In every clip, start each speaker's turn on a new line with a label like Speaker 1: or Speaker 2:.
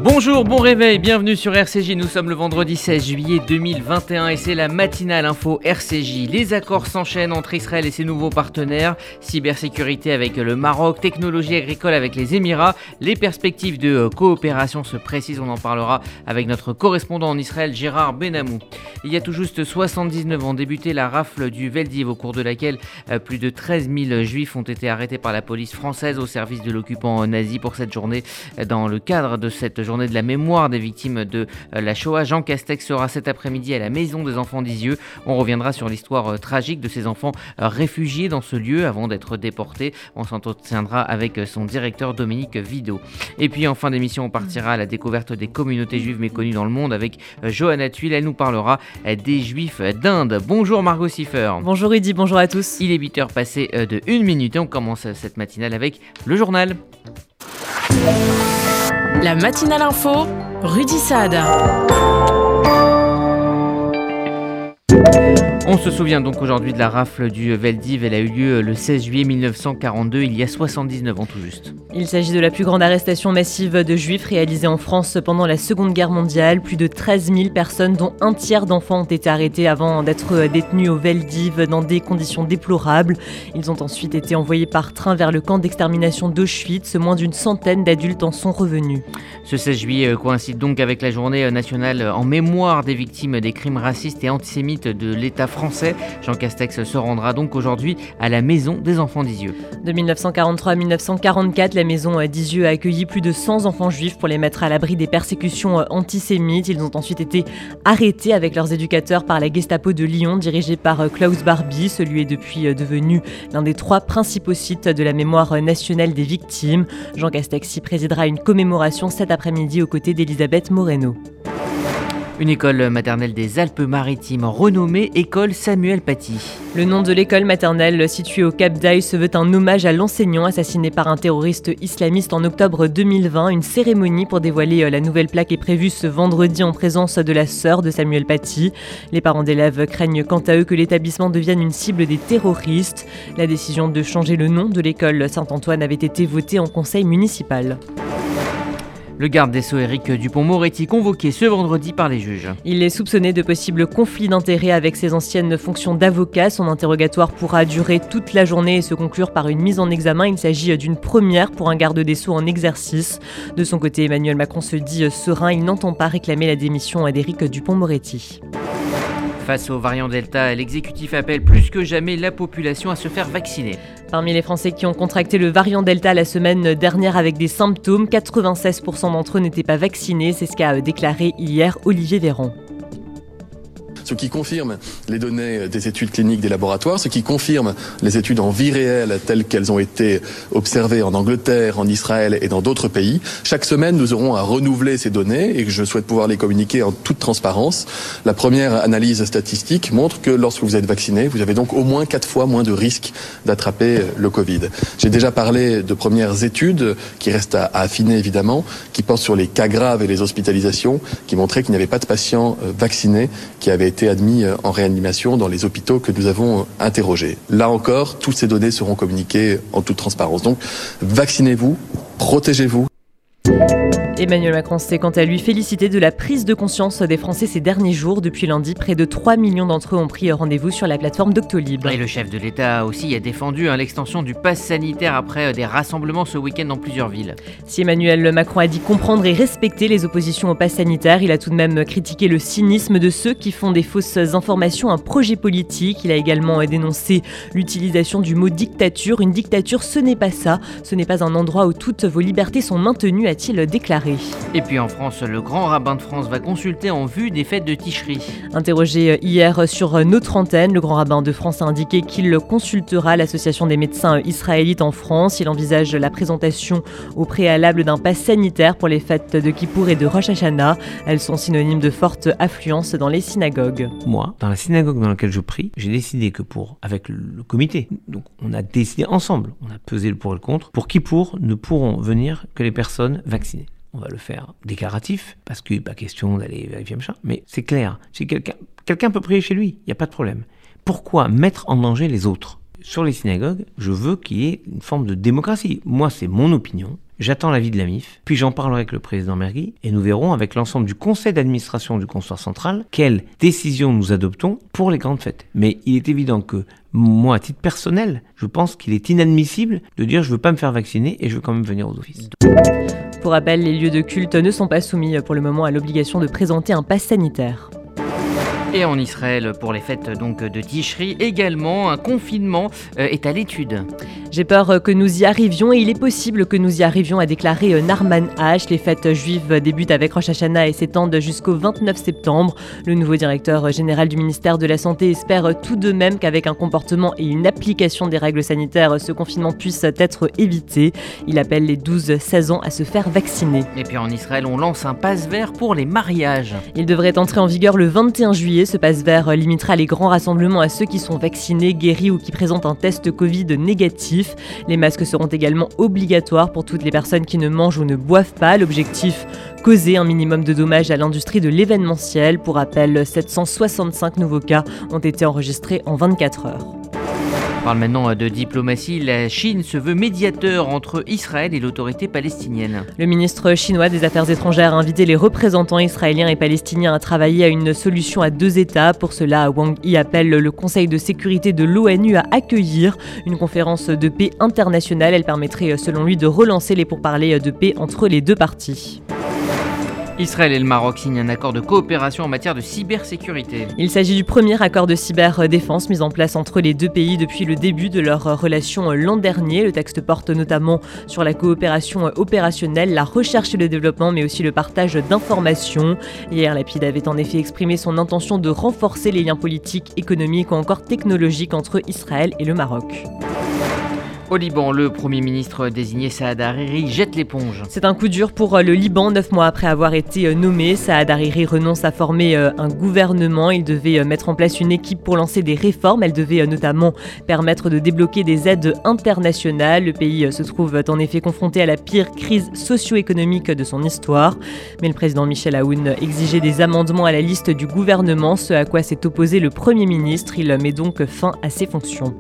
Speaker 1: Bonjour, bon réveil, bienvenue sur RCJ, nous sommes le vendredi 16 juillet 2021 et c'est la matinale info RCJ. Les accords s'enchaînent entre Israël et ses nouveaux partenaires, cybersécurité avec le Maroc, technologie agricole avec les Émirats, les perspectives de coopération se précisent, on en parlera avec notre correspondant en Israël Gérard Benamou. Il y a tout juste 79 ans débutait la rafle du Veldiv au cours de laquelle plus de 13 000 juifs ont été arrêtés par la police française au service de l'occupant nazi pour cette journée. Dans le cadre de cette journée de la mémoire des victimes de la Shoah, Jean Castex sera cet après-midi à la Maison des Enfants d'Isieux. On reviendra sur l'histoire tragique de ces enfants réfugiés dans ce lieu avant d'être déportés. On s'entretiendra avec son directeur Dominique Vidot. Et puis en fin d'émission, on partira à la découverte des communautés juives méconnues dans le monde avec Johanna Thuil. Elle nous parlera des Juifs d'Inde. Bonjour Margot Siffer.
Speaker 2: Bonjour Rudy, bonjour à tous.
Speaker 1: Il est 8h passé de 1 minute et on commence cette matinale avec le journal.
Speaker 3: La matinale info, Rudy Saad.
Speaker 1: On se souvient donc aujourd'hui de la rafle du Veldiv. Elle a eu lieu le 16 juillet 1942, il y a 79 ans tout juste.
Speaker 2: Il s'agit de la plus grande arrestation massive de juifs réalisée en France pendant la Seconde Guerre mondiale. Plus de 13 000 personnes, dont un tiers d'enfants, ont été arrêtés avant d'être détenus au Veldiv dans des conditions déplorables. Ils ont ensuite été envoyés par train vers le camp d'extermination d'Auschwitz. Moins d'une centaine d'adultes en sont revenus.
Speaker 1: Ce 16 juillet coïncide donc avec la journée nationale en mémoire des victimes des crimes racistes et antisémites de l'État français. Jean Castex se rendra donc aujourd'hui à la Maison des Enfants d'Isieux.
Speaker 2: De 1943 à 1944, la Maison d'Isieux a accueilli plus de 100 enfants juifs pour les mettre à l'abri des persécutions antisémites. Ils ont ensuite été arrêtés avec leurs éducateurs par la Gestapo de Lyon, dirigée par Klaus Barbie. Celui est depuis devenu l'un des 3 principaux sites de la mémoire nationale des victimes. Jean Castex y présidera une commémoration cet après-midi aux côtés d'Elisabeth Moreno.
Speaker 1: Une école maternelle des Alpes-Maritimes renommée École Samuel Paty.
Speaker 2: Le nom de l'école maternelle située au Cap d'Aille se veut un hommage à l'enseignant assassiné par un terroriste islamiste en octobre 2020. Une cérémonie pour dévoiler la nouvelle plaque est prévue ce vendredi en présence de la sœur de Samuel Paty. Les parents d'élèves craignent quant à eux que l'établissement devienne une cible des terroristes. La décision de changer le nom de l'école Saint-Antoine avait été votée en conseil municipal.
Speaker 1: Le garde des Sceaux Éric Dupond-Moretti convoqué ce vendredi par les juges.
Speaker 2: Il est soupçonné de possibles conflits d'intérêts avec ses anciennes fonctions d'avocat. Son interrogatoire pourra durer toute la journée et se conclure par une mise en examen. Il s'agit d'une première pour un garde des Sceaux en exercice. De son côté, Emmanuel Macron se dit serein. Il n'entend pas réclamer la démission d'Éric Dupond-Moretti.
Speaker 1: Face au variant Delta, l'exécutif appelle plus que jamais la population à se faire vacciner.
Speaker 2: Parmi les Français qui ont contracté le variant Delta la semaine dernière avec des symptômes, 96% d'entre eux n'étaient pas vaccinés. C'est ce qu'a déclaré hier Olivier Véran.
Speaker 4: Ce qui confirme les données des études cliniques des laboratoires, ce qui confirme les études en vie réelle telles qu'elles ont été observées en Angleterre, en Israël et dans d'autres pays. Chaque semaine, nous aurons à renouveler ces données et je souhaite pouvoir les communiquer en toute transparence. La première analyse statistique montre que lorsque vous êtes vacciné, vous avez donc au moins 4 fois moins de risques d'attraper le Covid. J'ai déjà parlé de premières études qui restent à affiner évidemment, qui portent sur les cas graves et les hospitalisations, qui montraient qu'il n'y avait pas de patients vaccinés qui avaient été admis en réanimation dans les hôpitaux que nous avons interrogés. Là encore, toutes ces données seront communiquées en toute transparence. Donc, vaccinez-vous, protégez-vous.
Speaker 2: Emmanuel Macron s'est quant à lui félicité de la prise de conscience des Français ces derniers jours. Depuis lundi, près de 3 millions d'entre eux ont pris rendez-vous sur la plateforme Doctolib.
Speaker 1: Et le chef de l'État aussi a défendu l'extension du pass sanitaire après des rassemblements ce week-end dans plusieurs villes.
Speaker 2: Si Emmanuel Macron a dit comprendre et respecter les oppositions au pass sanitaire, il a tout de même critiqué le cynisme de ceux qui font des fausses informations un projet politique. Il a également dénoncé l'utilisation du mot dictature. Une dictature, ce n'est pas ça. Ce n'est pas un endroit où toutes vos libertés sont maintenues, a-t-il déclaré.
Speaker 1: Et puis en France, le grand rabbin de France va consulter en vue des fêtes de Ticherie.
Speaker 2: Interrogé hier sur notre antenne, le grand rabbin de France a indiqué qu'il consultera l'association des médecins israélites en France. Il envisage la présentation au préalable d'un pass sanitaire pour les fêtes de Kippour et de Rosh Hashanah. Elles sont synonymes de forte affluence dans les synagogues.
Speaker 5: Moi, dans la synagogue dans laquelle je prie, j'ai décidé que avec le comité, donc on a décidé ensemble, on a pesé le pour et le contre, pour Kippour ne pourront venir que les personnes vaccinées. On va le faire déclaratif, parce qu'il n'est pas question d'aller vérifier machin, mais c'est clair. Si quelqu'un peut prier chez lui, il n'y a pas de problème. Pourquoi mettre en danger les autres ? sur les synagogues, je veux qu'il y ait une forme de démocratie. Moi, c'est mon opinion. J'attends l'avis de la MIF, puis j'en parlerai avec le président Mergui, et nous verrons avec l'ensemble du conseil d'administration du Consistoire central quelles décisions nous adoptons pour les grandes fêtes. Mais il est évident que moi, à titre personnel, je pense qu'il est inadmissible de dire je veux pas me faire vacciner et je veux quand même venir aux offices.
Speaker 2: Pour rappel, les lieux de culte ne sont pas soumis pour le moment à l'obligation de présenter un pass sanitaire.
Speaker 1: Et en Israël, pour les fêtes donc de Tishri, également, un confinement est à l'étude.
Speaker 2: J'ai peur que nous y arrivions et il est possible que nous y arrivions, a déclaré Narman H. Les fêtes juives débutent avec Rosh Hashanah et s'étendent jusqu'au 29 septembre. Le nouveau directeur général du ministère de la Santé espère tout de même qu'avec un comportement et une application des règles sanitaires, ce confinement puisse être évité. Il appelle les 12-16 ans à se faire vacciner.
Speaker 1: Et puis en Israël, on lance un pass vert pour les mariages.
Speaker 2: Il devrait entrer en vigueur le 21 juillet. Ce pass vert limitera les grands rassemblements à ceux qui sont vaccinés, guéris ou qui présentent un test Covid négatif. Les masques seront également obligatoires pour toutes les personnes qui ne mangent ou ne boivent pas. L'objectif, causer un minimum de dommages à l'industrie de l'événementiel. Pour rappel, 765 nouveaux cas ont été enregistrés en 24 heures.
Speaker 1: On parle maintenant de diplomatie. La Chine se veut médiateur entre Israël et l'autorité palestinienne.
Speaker 2: Le ministre chinois des Affaires étrangères a invité les représentants israéliens et palestiniens à travailler à une solution à 2 États. Pour cela, Wang Yi appelle le Conseil de sécurité de l'ONU à accueillir une conférence de paix internationale. Elle permettrait, selon lui, de relancer les pourparlers de paix entre les deux parties.
Speaker 1: Israël et le Maroc signent un accord de coopération en matière de cybersécurité.
Speaker 2: Il s'agit du premier accord de cyberdéfense mis en place entre les deux pays depuis le début de leur relation l'an dernier. Le texte porte notamment sur la coopération opérationnelle, la recherche et le développement, mais aussi le partage d'informations. Hier, Lapid avait en effet exprimé son intention de renforcer les liens politiques, économiques ou encore technologiques entre Israël et le Maroc.
Speaker 1: Au Liban, le Premier ministre désigné Saad Hariri jette l'éponge.
Speaker 2: C'est un coup dur pour le Liban. 9 mois après avoir été nommé, Saad Hariri renonce à former un gouvernement. Il devait mettre en place une équipe pour lancer des réformes. Elle devait notamment permettre de débloquer des aides internationales. Le pays se trouve en effet confronté à la pire crise socio-économique de son histoire. Mais le président Michel Aoun exigeait des amendements à la liste du gouvernement, ce à quoi s'est opposé le Premier ministre. Il met donc fin à ses fonctions.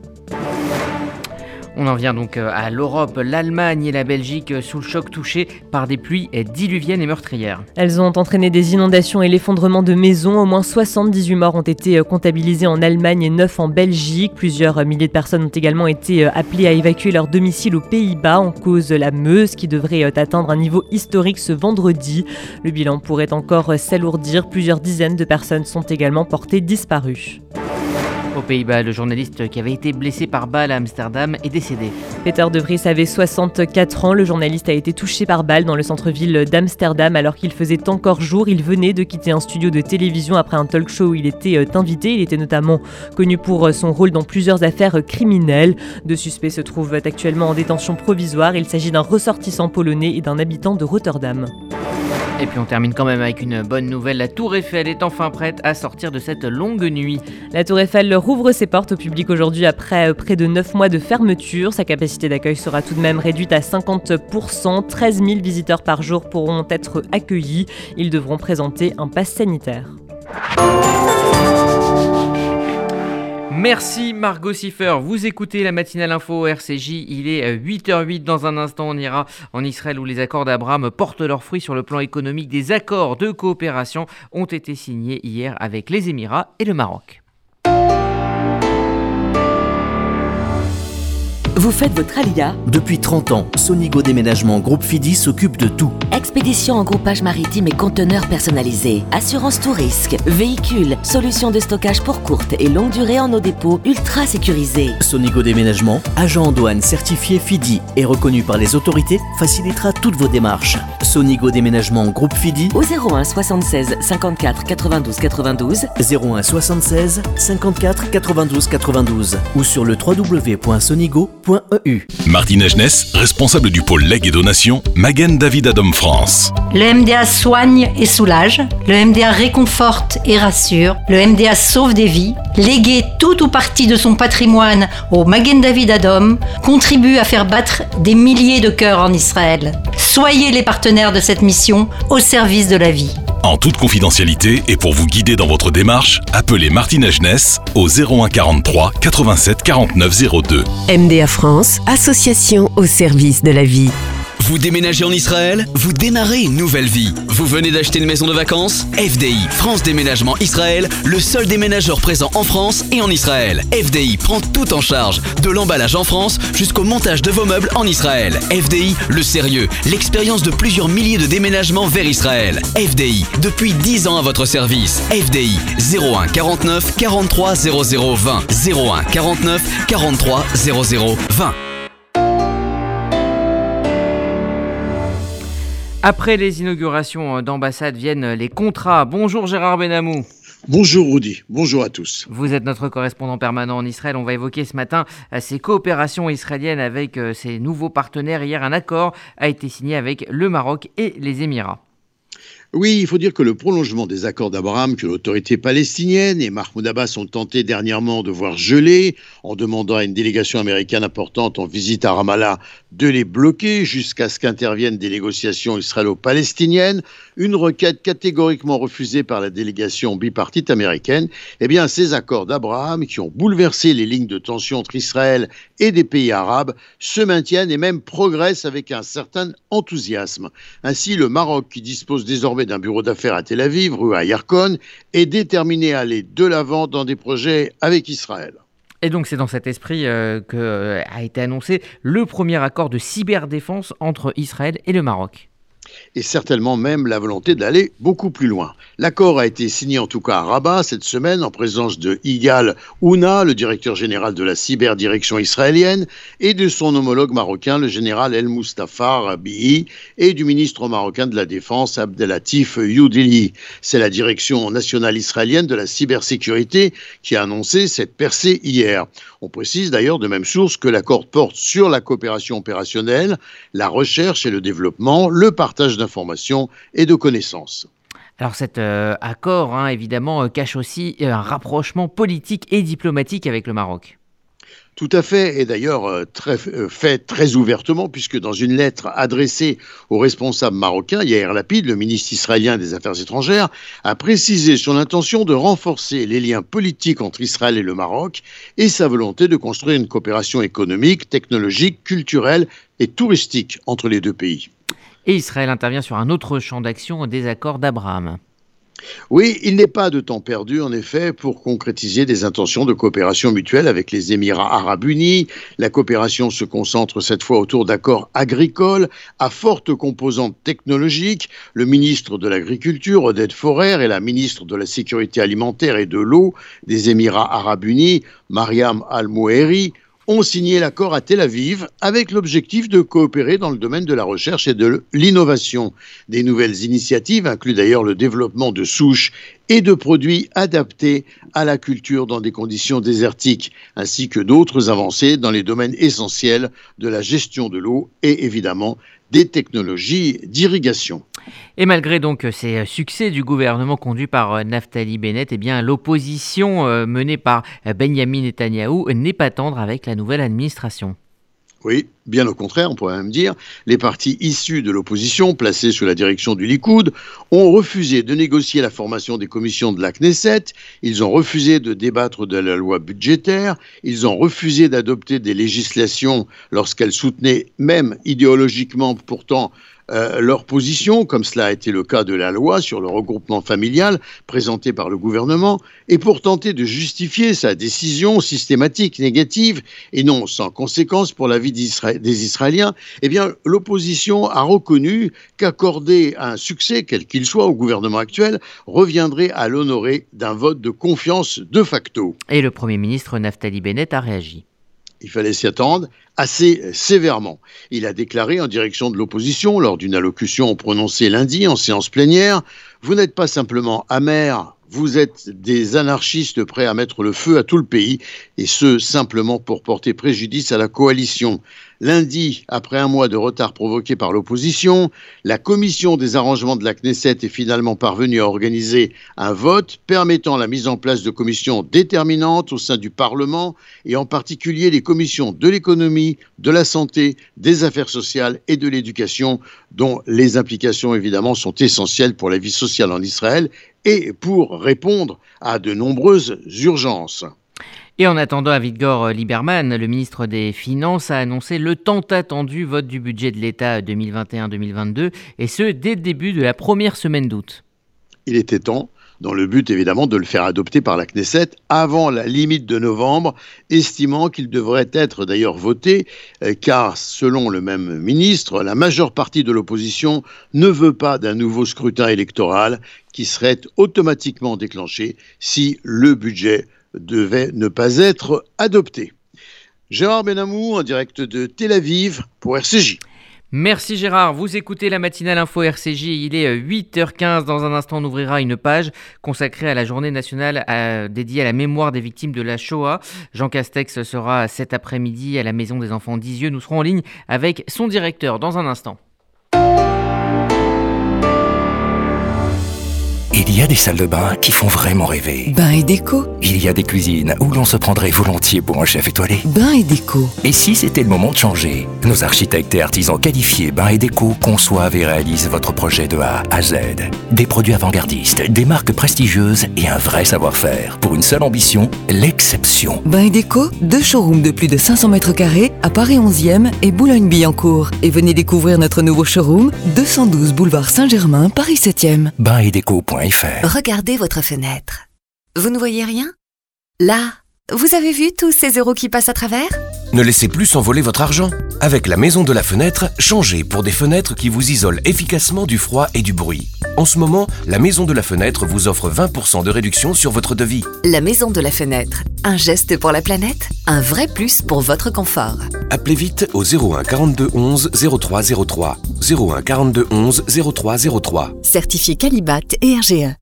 Speaker 1: On en vient donc à l'Europe, l'Allemagne et la Belgique sous le choc, touchés par des pluies diluviennes et meurtrières.
Speaker 2: Elles ont entraîné des inondations et l'effondrement de maisons. Au moins 78 morts ont été comptabilisés en Allemagne et 9 en Belgique. Plusieurs milliers de personnes ont également été appelées à évacuer leur domicile aux Pays-Bas en cause la Meuse qui devrait atteindre un niveau historique ce vendredi. Le bilan pourrait encore s'alourdir. Plusieurs dizaines de personnes sont également portées disparues.
Speaker 1: Aux Pays-Bas, le journaliste qui avait été blessé par balle à Amsterdam est décédé.
Speaker 2: Peter de Vries avait 64 ans. Le journaliste a été touché par balle dans le centre-ville d'Amsterdam alors qu'il faisait encore jour. Il venait de quitter un studio de télévision après un talk show où il était invité. Il était notamment connu pour son rôle dans plusieurs affaires criminelles. 2 suspects se trouvent actuellement en détention provisoire. Il s'agit d'un ressortissant polonais et d'un habitant de Rotterdam.
Speaker 1: Et puis on termine quand même avec une bonne nouvelle. La Tour Eiffel est enfin prête à sortir de cette longue nuit.
Speaker 2: La Tour Eiffel rouvre ses portes au public aujourd'hui après près de 9 mois de fermeture. Sa capacité d'accueil sera tout de même réduite à 50%. 13 000 visiteurs par jour pourront être accueillis. Ils devront présenter un pass sanitaire.
Speaker 1: Merci Margot Siffer, vous écoutez la matinale info RCJ, il est 8h08, dans un instant on ira en Israël où les accords d'Abraham portent leurs fruits sur le plan économique. Des accords de coopération ont été signés hier avec les Émirats et le Maroc.
Speaker 6: Vous faites votre Aliyah ? Depuis 30 ans, Sonigo Déménagement Groupe Fidi s'occupe de tout.
Speaker 7: Expédition en groupage maritime et conteneurs personnalisés, assurance tout risque, véhicules, solutions de stockage pour courte et longue durée en nos dépôts ultra sécurisés.
Speaker 6: Sonigo Déménagement, agent en douane certifié Fidi et reconnu par les autorités, facilitera toutes vos démarches. Sonigo Déménagement Groupe Fidi
Speaker 7: au 01 76 54 92 92
Speaker 6: 01 76 54 92 92 ou sur le www.sonigo.eu.
Speaker 8: Martine Agenès, responsable du pôle legs et donation, Magen David Adom France.
Speaker 9: Le MDA soigne et soulage, le MDA réconforte et rassure, le MDA sauve des vies. Léguer tout ou partie de son patrimoine au Magen David Adom contribue à faire battre des milliers de cœurs en Israël. Soyez les partenaires de cette mission au service de la vie.
Speaker 8: En toute confidentialité et pour vous guider dans votre démarche, appelez Martina Jeunesse au 01 43 87 49 02.
Speaker 10: MDA France, association au service de la vie.
Speaker 11: Vous déménagez en Israël? Vous démarrez une nouvelle vie. Vous venez d'acheter une maison de vacances? FDI, France Déménagement Israël, le seul déménageur présent en France et en Israël. FDI prend tout en charge, de l'emballage en France jusqu'au montage de vos meubles en Israël. FDI, le sérieux, l'expérience de plusieurs milliers de déménagements vers Israël. FDI, depuis 10 ans à votre service. FDI, 01 49 43 00 20. 01 49 43 00 20.
Speaker 1: Après les inaugurations d'ambassades viennent les contrats. Bonjour Gérard Benamou.
Speaker 12: Bonjour Rudy, bonjour à tous.
Speaker 1: Vous êtes notre correspondant permanent en Israël. On va évoquer ce matin ces coopérations israéliennes avec ces nouveaux partenaires. Hier, un accord a été signé avec le Maroc et les Émirats.
Speaker 12: Oui, il faut dire que le prolongement des accords d'Abraham que l'autorité palestinienne et Mahmoud Abbas ont tenté dernièrement de voir geler en demandant à une délégation américaine importante en visite à Ramallah de les bloquer jusqu'à ce qu'interviennent des négociations israélo-palestiniennes, une requête catégoriquement refusée par la délégation bipartite américaine. Eh bien, ces accords d'Abraham qui ont bouleversé les lignes de tension entre Israël et des pays arabes se maintiennent et même progressent avec un certain enthousiasme. Ainsi, le Maroc, qui dispose désormais d'un bureau d'affaires à Tel Aviv, rue à Yarkon, est déterminé à aller de l'avant dans des projets avec Israël.
Speaker 1: Et donc c'est dans cet esprit qu'a été annoncé le premier accord de cyberdéfense entre Israël et le Maroc.
Speaker 12: Et certainement même la volonté d'aller beaucoup plus loin. L'accord a été signé en tout cas à Rabat cette semaine en présence de Igal Ouna, le directeur général de la cyberdirection israélienne, et de son homologue marocain, le général El Mustafa Rabii, et du ministre marocain de la Défense, Abdelatif Youdili. C'est la direction nationale israélienne de la cybersécurité qui a annoncé cette percée hier. On précise d'ailleurs de même source que l'accord porte sur la coopération opérationnelle, la recherche et le développement, le partage d'informations et de connaissances.
Speaker 1: Alors cet accord, évidemment, cache aussi un rapprochement politique et diplomatique avec le Maroc.
Speaker 12: Tout à fait, et d'ailleurs fait très ouvertement, puisque dans une lettre adressée au responsable marocain, Yair Lapid, le ministre israélien des Affaires étrangères, a précisé son intention de renforcer les liens politiques entre Israël et le Maroc et sa volonté de construire une coopération économique, technologique, culturelle et touristique entre les deux pays.
Speaker 1: Et Israël intervient sur un autre champ d'action des accords d'Abraham.
Speaker 12: Oui, il n'est pas de temps perdu, en effet, pour concrétiser des intentions de coopération mutuelle avec les Émirats arabes unis. La coopération se concentre cette fois autour d'accords agricoles à forte composante technologique. Le ministre de l'Agriculture, Oded Forer, et la ministre de la Sécurité alimentaire et de l'eau des Émirats arabes unis, Mariam Al-Mouheri, ont signé l'accord à Tel Aviv avec l'objectif de coopérer dans le domaine de la recherche et de l'innovation. Des nouvelles initiatives incluent d'ailleurs le développement de souches et de produits adaptés à la culture dans des conditions désertiques, ainsi que d'autres avancées dans les domaines essentiels de la gestion de l'eau et évidemment des technologies d'irrigation.
Speaker 1: Et malgré donc ces succès du gouvernement conduit par Naftali Bennett, l'opposition menée par Benyamin Netanyahou n'est pas tendre avec la nouvelle administration.
Speaker 12: Oui, bien au contraire, on pourrait même dire, les partis issus de l'opposition, placés sous la direction du Likoud, ont refusé de négocier la formation des commissions de la Knesset, ils ont refusé de débattre de la loi budgétaire, ils ont refusé d'adopter des législations lorsqu'elles soutenaient, même idéologiquement pourtant, leur position, comme cela a été le cas de la loi sur le regroupement familial présentée par le gouvernement, et pour tenter de justifier sa décision systématique, négative, et non sans conséquence pour la vie des Israéliens, l'opposition a reconnu qu'accorder un succès, quel qu'il soit, au gouvernement actuel, reviendrait à l'honorer d'un vote de confiance de facto.
Speaker 1: Et le Premier ministre Naftali Bennett a réagi.
Speaker 12: Il fallait s'y attendre assez sévèrement. Il a déclaré en direction de l'opposition, lors d'une allocution prononcée lundi en séance plénière, « Vous n'êtes pas simplement amers, vous êtes des anarchistes prêts à mettre le feu à tout le pays, et ce, simplement pour porter préjudice à la coalition. Lundi, après un mois de retard provoqué par l'opposition, la commission des arrangements de la Knesset est finalement parvenue à organiser un vote permettant la mise en place de commissions déterminantes au sein du Parlement et en particulier les commissions de l'économie, de la santé, des affaires sociales et de l'éducation, dont les implications évidemment sont essentielles pour la vie sociale en Israël et pour répondre à de nombreuses urgences.
Speaker 1: Et en attendant, Avigdor Lieberman, le ministre des Finances, a annoncé le tant attendu vote du budget de l'État 2021-2022, et ce, dès le début de la première semaine d'août.
Speaker 12: Il était temps, dans le but évidemment de le faire adopter par la Knesset avant la limite de novembre, estimant qu'il devrait être d'ailleurs voté, car selon le même ministre, la majeure partie de l'opposition ne veut pas d'un nouveau scrutin électoral qui serait automatiquement déclenché si le budget devait ne pas être adopté. Gérard Benamou en direct de Tel Aviv pour RCJ.
Speaker 1: Merci Gérard, vous écoutez la matinale info RCJ, il est 8h15, dans un instant on ouvrira une page consacrée à la journée nationale dédiée à la mémoire des victimes de la Shoah. Jean Castex sera cet après-midi à la Maison des Enfants d'Isieux, nous serons en ligne avec son directeur dans un instant.
Speaker 13: Il y a des salles de bain qui font vraiment rêver.
Speaker 10: Bain et déco.
Speaker 13: Il y a des cuisines où l'on se prendrait volontiers pour un chef étoilé.
Speaker 10: Bain et déco.
Speaker 13: Et si c'était le moment de changer? Nos architectes et artisans qualifiés Bain et Déco conçoivent et réalisent votre projet de A à Z. Des produits avant-gardistes, des marques prestigieuses et un vrai savoir-faire. Pour une seule ambition, l'exception.
Speaker 10: Bain et déco, 2 showrooms de plus de 500 mètres carrés à Paris 11e et Boulogne-Billancourt. Et venez découvrir notre nouveau showroom, 212 boulevard Saint-Germain, Paris 7e.
Speaker 13: Bainetdeco.fr.
Speaker 10: Regardez votre fenêtre. Vous ne voyez rien? Là, vous avez vu tous ces euros qui passent à travers?
Speaker 14: Ne laissez plus s'envoler votre argent. Avec la Maison de la Fenêtre, changez pour des fenêtres qui vous isolent efficacement du froid et du bruit. En ce moment, la Maison de la Fenêtre vous offre 20% de réduction sur votre devis.
Speaker 10: La Maison de la Fenêtre. Un geste pour la planète, un vrai plus pour votre confort.
Speaker 14: Appelez vite au 01 42 11 03 03. 01 42 11 03 03.
Speaker 10: Certifié Qualibat et RGE.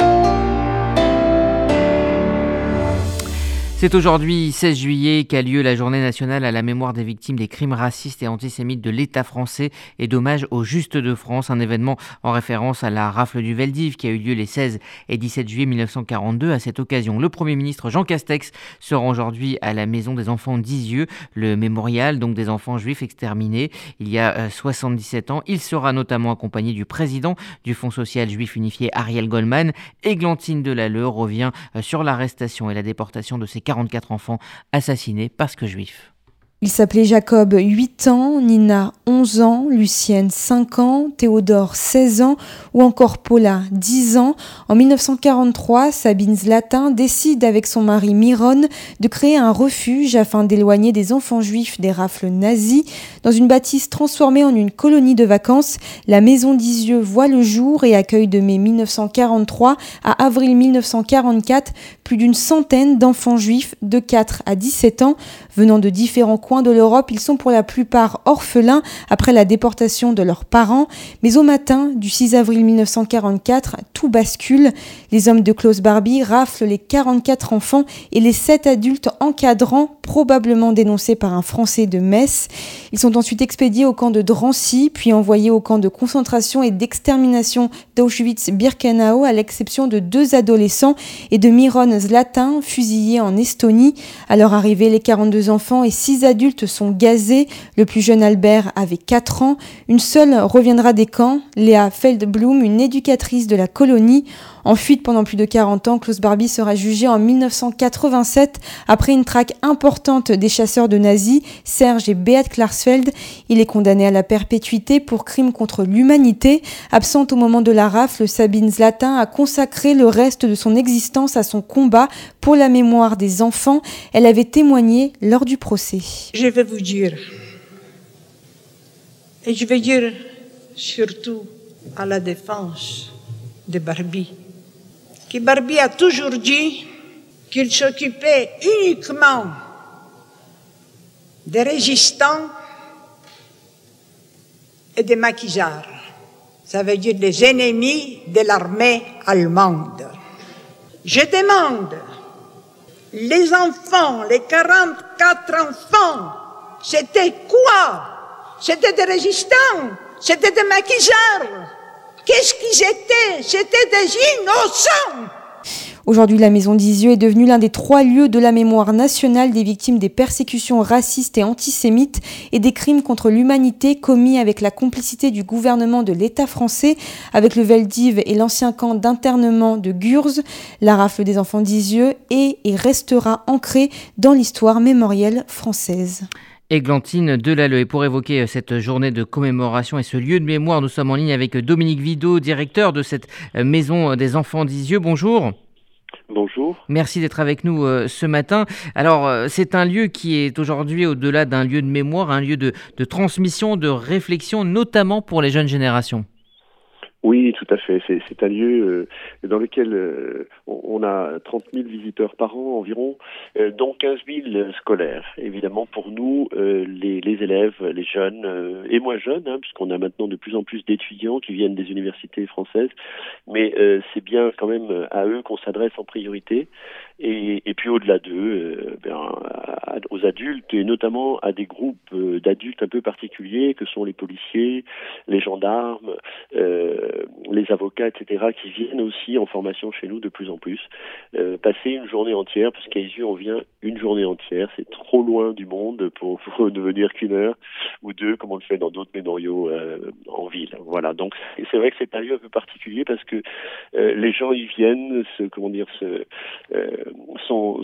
Speaker 1: C'est aujourd'hui, 16 juillet, qu'a lieu la journée nationale à la mémoire des victimes des crimes racistes et antisémites de l'État français et d'hommage au Juste de France, un événement en référence à la rafle du Veldiv qui a eu lieu les 16 et 17 juillet 1942. À cette occasion, le Premier ministre Jean Castex se rend aujourd'hui à la Maison des Enfants d'Isieux, le mémorial donc des enfants juifs exterminés il y a 77 ans. Il sera notamment accompagné du président du Fonds social juif unifié Ariel Goldman. Églantine Delalleux revient sur l'arrestation et la déportation de ces 44 enfants assassinés parce que juifs.
Speaker 15: Il s'appelait Jacob, 8 ans, Nina, 11 ans, Lucienne, 5 ans, Théodore, 16 ans ou encore Paula, 10 ans. En 1943, Sabine Zlatin décide avec son mari Miron de créer un refuge afin d'éloigner des enfants juifs des rafles nazies. Dans une bâtisse transformée en une colonie de vacances, la Maison d'Isieux voit le jour et accueille de mai 1943 à avril 1944 plus d'une centaine d'enfants juifs de 4 à 17 ans venant de différents coins de l'Europe. Ils sont pour la plupart orphelins après la déportation de leurs parents. Mais au matin du 6 avril 1944, tout bascule. Les hommes de Klaus Barbie raflent les 44 enfants et les 7 adultes encadrants, probablement dénoncés par un Français de Metz. Ils sont ensuite expédiés au camp de Drancy, puis envoyés au camp de concentration et d'extermination d'Auschwitz-Birkenau, à l'exception de 2 adolescents et de Miron Zlatin, fusillés en Estonie. À leur arrivée, les 42 enfants et 6 adultes sont gazés. Le plus jeune Albert avait 4 ans. Une seule reviendra des camps, Léa Feldblum, une éducatrice de la colonie. En fuite pendant plus de 40 ans, Klaus Barbie sera jugé en 1987 après une traque importante des chasseurs de nazis, Serge et Beat Klarsfeld. Il est condamné à la perpétuité pour crime contre l'humanité. Absente au moment de la rafle, Sabine Zlatin a consacré le reste de son existence à son combat pour la mémoire des enfants. Elle avait témoigné lors du procès.
Speaker 16: Je vais vous dire, et je vais dire surtout à la défense de Barbie, que Barbie a toujours dit qu'il s'occupait uniquement des résistants et des maquisards. Ça veut dire des ennemis de l'armée allemande. Je demande, les enfants, les 44 enfants, c'était quoi quoi? C'était des résistants, c'était des maquisards. Qu'est-ce qu'ils étaient? C'était des innocents.
Speaker 15: Aujourd'hui, la Maison d'Isieux est devenue l'un des 3 lieux de la mémoire nationale des victimes des persécutions racistes et antisémites et des crimes contre l'humanité commis avec la complicité du gouvernement de l'État français, avec le Veldiv et l'ancien camp d'internement de Gurs. La rafle des enfants d'Isieux est et restera ancrée dans l'histoire mémorielle française.
Speaker 1: Églantine Delalleux. Et pour évoquer cette journée de commémoration et ce lieu de mémoire, nous sommes en ligne avec Dominique Vidot, directeur de cette Maison des enfants d'Isieux. Bonjour.
Speaker 17: Bonjour.
Speaker 1: Merci d'être avec nous ce matin. Alors, c'est un lieu qui est aujourd'hui, au-delà d'un lieu de mémoire, un lieu de transmission, de réflexion, notamment pour les jeunes générations.
Speaker 17: Oui, tout à fait. C'est un lieu dans lequel on a 30 000 visiteurs par an environ, dont 15 000 scolaires. Évidemment, pour nous, les élèves, les jeunes et moins jeunes, puisqu'on a maintenant de plus en plus d'étudiants qui viennent des universités françaises, mais c'est bien quand même à eux qu'on s'adresse en priorité. Et puis au-delà d'eux, aux adultes et notamment à des groupes d'adultes un peu particuliers que sont les policiers, les gendarmes, les avocats, etc., qui viennent aussi en formation chez nous de plus en plus. Passer une journée entière, parce qu'à Isieux on vient une journée entière, c'est trop loin du monde pour ne venir qu'une heure ou deux, comme on le fait dans d'autres mémoriaux en ville. Voilà, donc c'est vrai que c'est un lieu un peu particulier parce que les gens y viennent, sont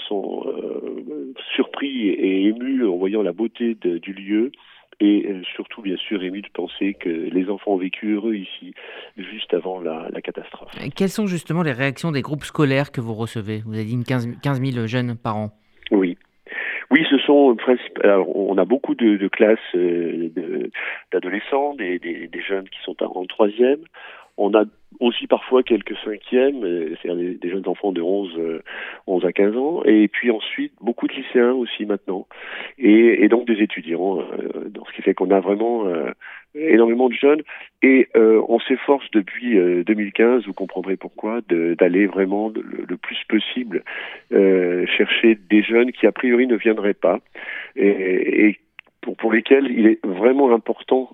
Speaker 17: surpris et émus en voyant la beauté du lieu et surtout bien sûr émus de penser que les enfants ont vécu heureux ici juste avant la catastrophe.
Speaker 1: Quelles sont justement les réactions des groupes scolaires que vous recevez? Vous avez dit 15 000 jeunes par an.
Speaker 17: Oui, ce sont alors, on a beaucoup de classes d'adolescents, des jeunes qui sont en 3e. On a aussi parfois quelques 5e, c'est-à-dire des jeunes enfants de 11 à 15 ans, et puis ensuite beaucoup de lycéens aussi maintenant, et donc des étudiants, ce qui fait qu'on a vraiment énormément de jeunes, et on s'efforce depuis 2015, vous comprendrez pourquoi, d'aller vraiment le plus possible chercher des jeunes qui a priori ne viendraient pas, et pour lesquels il est vraiment important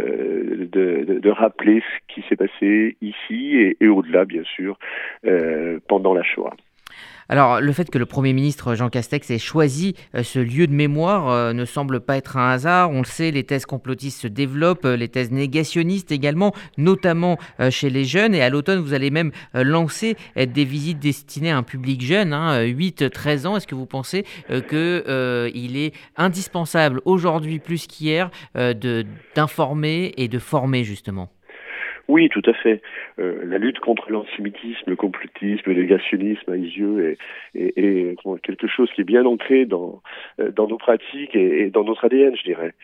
Speaker 17: de rappeler ce qui s'est passé ici et au-delà, bien sûr, pendant la Shoah.
Speaker 1: Alors, le fait que le Premier ministre Jean Castex ait choisi ce lieu de mémoire ne semble pas être un hasard. On le sait, les thèses complotistes se développent, les thèses négationnistes également, notamment chez les jeunes. Et à l'automne, vous allez même lancer des visites destinées à un public jeune, 8-13 ans. Est-ce que vous pensez qu'il est indispensable aujourd'hui plus qu'hier d'informer et de former justement ?
Speaker 17: Oui, tout à fait. La lutte contre l'antisémitisme, le complotisme, le négationnisme à Isieux est quelque chose qui est bien ancré dans nos pratiques et dans notre ADN, je dirais.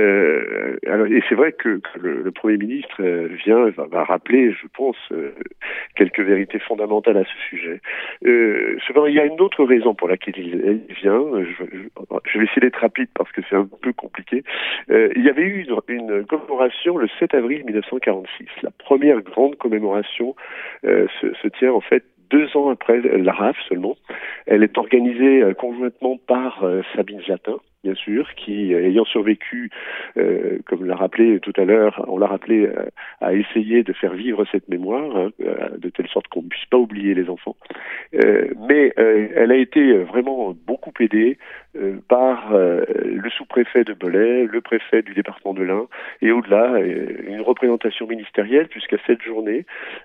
Speaker 17: Et c'est vrai que le Premier ministre va rappeler, je pense, quelques vérités fondamentales à ce sujet. Cependant, il y a une autre raison pour laquelle il vient. Je vais essayer d'être rapide parce que c'est un peu compliqué. Il y avait eu une commémoration le 7 avril 1946. La première grande commémoration se tient en fait 2 ans après la RAF seulement. Elle est organisée conjointement par Sabine Zatin, bien sûr, qui, ayant survécu, comme l'a rappelé tout à l'heure, on l'a rappelé, a essayé de faire vivre cette mémoire, de telle sorte qu'on ne puisse pas oublier les enfants. Mais elle a été vraiment beaucoup aidée par le sous-préfet de Belay, le préfet du département de l'Ain, et au-delà, une représentation ministérielle, puisqu'à cette journée,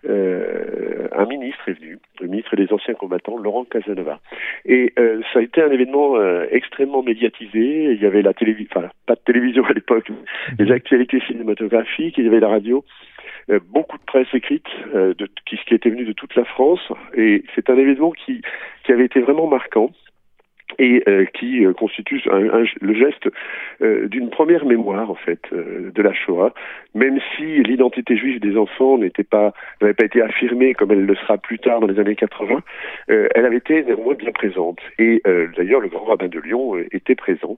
Speaker 17: un ministre est venu, le ministre des Anciens Combattants, Laurent Casanova. Et ça a été un événement extrêmement médiatisé. Il y avait la télévision, pas de télévision à l'époque, les actualités cinématographiques, il y avait la radio, beaucoup de presse écrite qui était venue de toute la France, et c'est un événement qui avait été vraiment marquant et qui constitue le geste d'une première mémoire en fait de la Shoah, même si l'identité juive des enfants n'avait pas été affirmée comme elle le sera plus tard dans les années 80, elle avait été néanmoins bien présente. Et d'ailleurs le grand rabbin de Lyon était présent,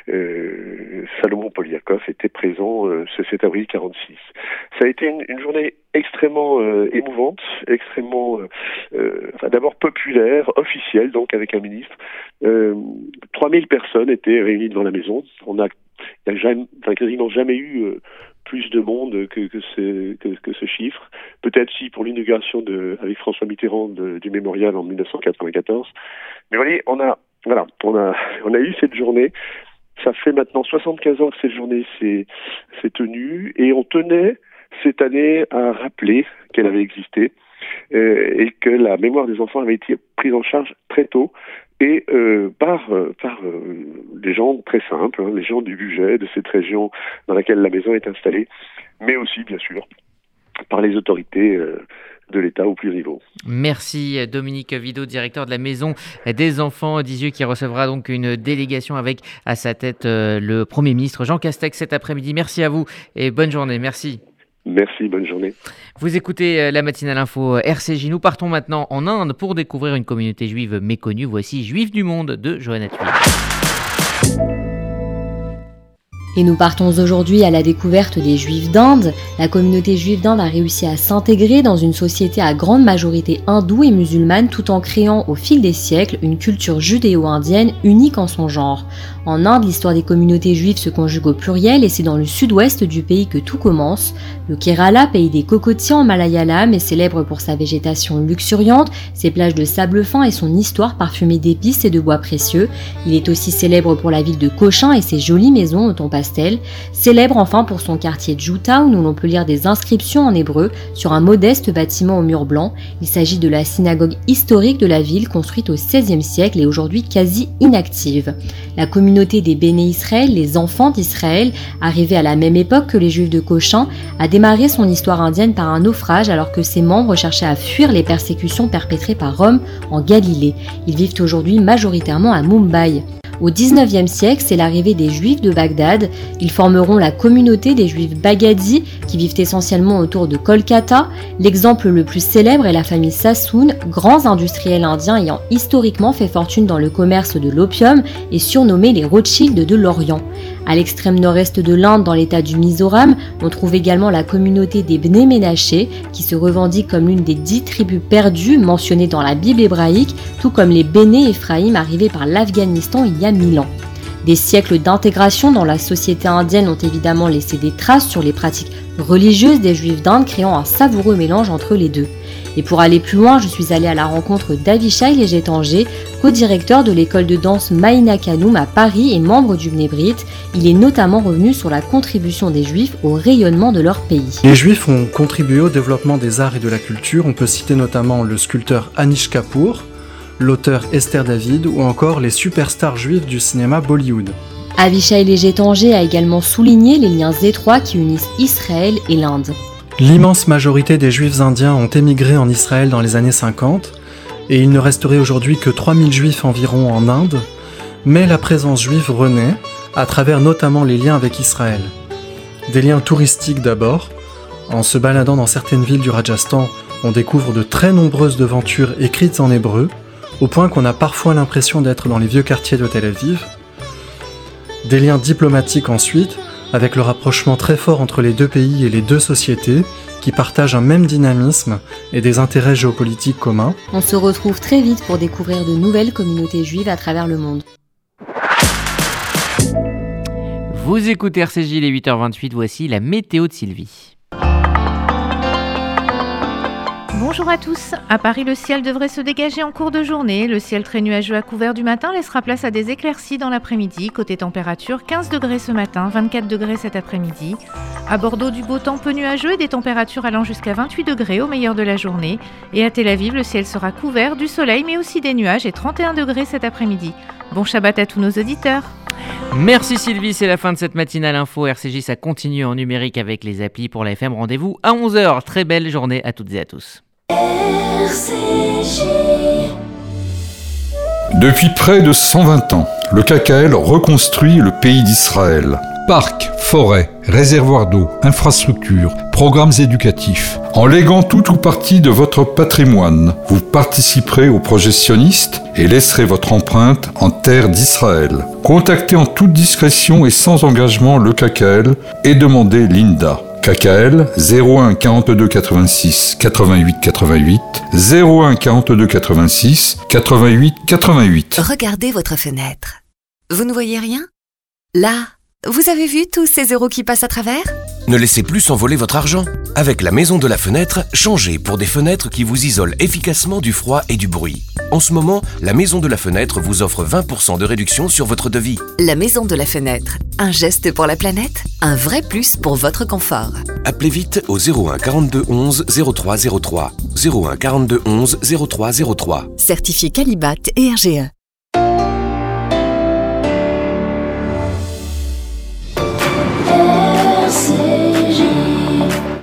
Speaker 17: Salomon Poliakov était présent ce 7 avril 46. Ça a été une journée extrêmement émouvante, extrêmement d'abord populaire, officielle, donc avec un ministre. 3000 personnes étaient réunies devant la maison. Il y a quasiment jamais eu plus de monde que ce chiffre. Peut-être si pour l'inauguration avec François Mitterrand du mémorial en 1994. Mais vous voyez, on a eu cette journée. Ça fait maintenant 75 ans que cette journée s'est tenue et on tenait cette année à rappeler qu'elle avait existé et que la mémoire des enfants avait été prise en charge très tôt et par des gens très simples, les gens du budget de cette région dans laquelle la maison est installée, mais aussi bien sûr par les autorités de l'État au plus haut niveau.
Speaker 1: Merci Dominique Vidot, directeur de la Maison des Enfants d'Isieux, qui recevra donc une délégation avec à sa tête le Premier ministre Jean Castex cet après-midi. Merci à vous et bonne journée. Merci.
Speaker 17: Merci, bonne journée.
Speaker 1: Vous écoutez la matinale info RCJ. Nous partons maintenant en Inde pour découvrir une communauté juive méconnue. Voici Juifs du monde de Johanna Thuil.
Speaker 18: Et nous partons aujourd'hui à la découverte des Juifs d'Inde. La communauté juive d'Inde a réussi à s'intégrer dans une société à grande majorité hindoue et musulmane tout en créant au fil des siècles une culture judéo-indienne unique en son genre. En Inde, l'histoire des communautés juives se conjugue au pluriel et c'est dans le sud-ouest du pays que tout commence. Le Kerala, pays des cocotiers en malayalam, est célèbre pour sa végétation luxuriante, ses plages de sable fin et son histoire parfumée d'épices et de bois précieux. Il est aussi célèbre pour la ville de Cochin et ses jolies maisons au ton pastel. Célèbre enfin pour son quartier Djouta où l'on peut lire des inscriptions en hébreu sur un modeste bâtiment au mur blanc. Il s'agit de la synagogue historique de la ville construite au XVIe siècle et aujourd'hui quasi inactive. La communauté des Béné Israël, les enfants d'Israël, arrivés à la même époque que les Juifs de Cochin, a démarré son histoire indienne par un naufrage alors que ses membres cherchaient à fuir les persécutions perpétrées par Rome en Galilée. Ils vivent aujourd'hui majoritairement à Mumbai. Au XIXe siècle, c'est l'arrivée des Juifs de Bagdad. Ils formeront la communauté des Juifs Baghadi, qui vivent essentiellement autour de Kolkata. L'exemple le plus célèbre est la famille Sassoon, grands industriels indiens ayant historiquement fait fortune dans le commerce de l'opium et surnommés les Rothschild de l'Orient. À l'extrême nord-est de l'Inde, dans l'état du Mizoram, on trouve également la communauté des Bnei Ménaché, qui se revendique comme l'une des 10 tribus perdues mentionnées dans la Bible hébraïque, tout comme les Béné Ephraïm arrivés par l'Afghanistan il y a 1000 ans. Des siècles d'intégration dans la société indienne ont évidemment laissé des traces sur les pratiques religieuses des Juifs d'Inde, créant un savoureux mélange entre les deux. Et pour aller plus loin, je suis allée à la rencontre d'Avishai Léger-Tanger, co-directeur de l'école de danse Maïna Kanoum à Paris et membre du Bnei Brit. Il est notamment revenu sur la contribution des Juifs au rayonnement de leur pays.
Speaker 19: Les Juifs ont contribué au développement des arts et de la culture. On peut citer notamment le sculpteur Anish Kapoor, l'auteur Esther David ou encore les superstars juifs du cinéma Bollywood.
Speaker 18: Avishai Léger-Tanger a également souligné les liens étroits qui unissent Israël et l'Inde.
Speaker 19: L'immense majorité des Juifs indiens ont émigré en Israël dans les années 50 et il ne resterait aujourd'hui que 3000 Juifs environ en Inde, mais la présence juive renaît à travers notamment les liens avec Israël. Des liens touristiques d'abord. En se baladant dans certaines villes du Rajasthan, on découvre de très nombreuses devantures écrites en hébreu, au point qu'on a parfois l'impression d'être dans les vieux quartiers de Tel Aviv. Des liens diplomatiques ensuite, avec le rapprochement très fort entre les deux pays et les deux sociétés, qui partagent un même dynamisme et des intérêts géopolitiques communs.
Speaker 18: On se retrouve très vite pour découvrir de nouvelles communautés juives à travers le monde.
Speaker 1: Vous écoutez RCJ, il est 8h28, voici la météo de Sylvie.
Speaker 20: Bonjour à tous. À Paris, le ciel devrait se dégager en cours de journée. Le ciel très nuageux à couvert du matin laissera place à des éclaircies dans l'après-midi. Côté température, 15 degrés ce matin, 24 degrés cet après-midi. À Bordeaux, du beau temps peu nuageux et des températures allant jusqu'à 28 degrés au meilleur de la journée. Et à Tel Aviv, le ciel sera couvert du soleil mais aussi des nuages et 31 degrés cet après-midi. Bon Shabbat à tous nos auditeurs.
Speaker 1: Merci Sylvie, c'est la fin de cette matinale info. RCJ, ça continue en numérique avec les applis pour la FM. Rendez-vous à 11h. Très belle journée à toutes et à tous.
Speaker 21: RCJ. Depuis près de 120 ans, le KKL reconstruit le pays d'Israël. Parcs, forêts, réservoirs d'eau, infrastructures, programmes éducatifs. En léguant tout ou partie de votre patrimoine, vous participerez au projet sioniste et laisserez votre empreinte en terre d'Israël. Contactez en toute discrétion et sans engagement le KKL et demandez l'INDA. KKL 01 42 86 88 88 01 42 86 88 88.
Speaker 22: Regardez votre fenêtre. Vous ne voyez rien ? Là,
Speaker 10: Vous avez vu tous ces euros qui passent à travers ?
Speaker 14: Ne laissez plus s'envoler votre argent. Avec la maison de la fenêtre, changez pour des fenêtres qui vous isolent efficacement du froid et du bruit. En ce moment, la maison de la fenêtre vous offre 20% de réduction sur votre devis.
Speaker 10: La maison de la fenêtre. Un geste pour la planète, un vrai plus pour votre confort.
Speaker 14: Appelez vite au 01 42 11 03 03. 01 42 11 03 03.
Speaker 10: Certifié Qualibat et RGE.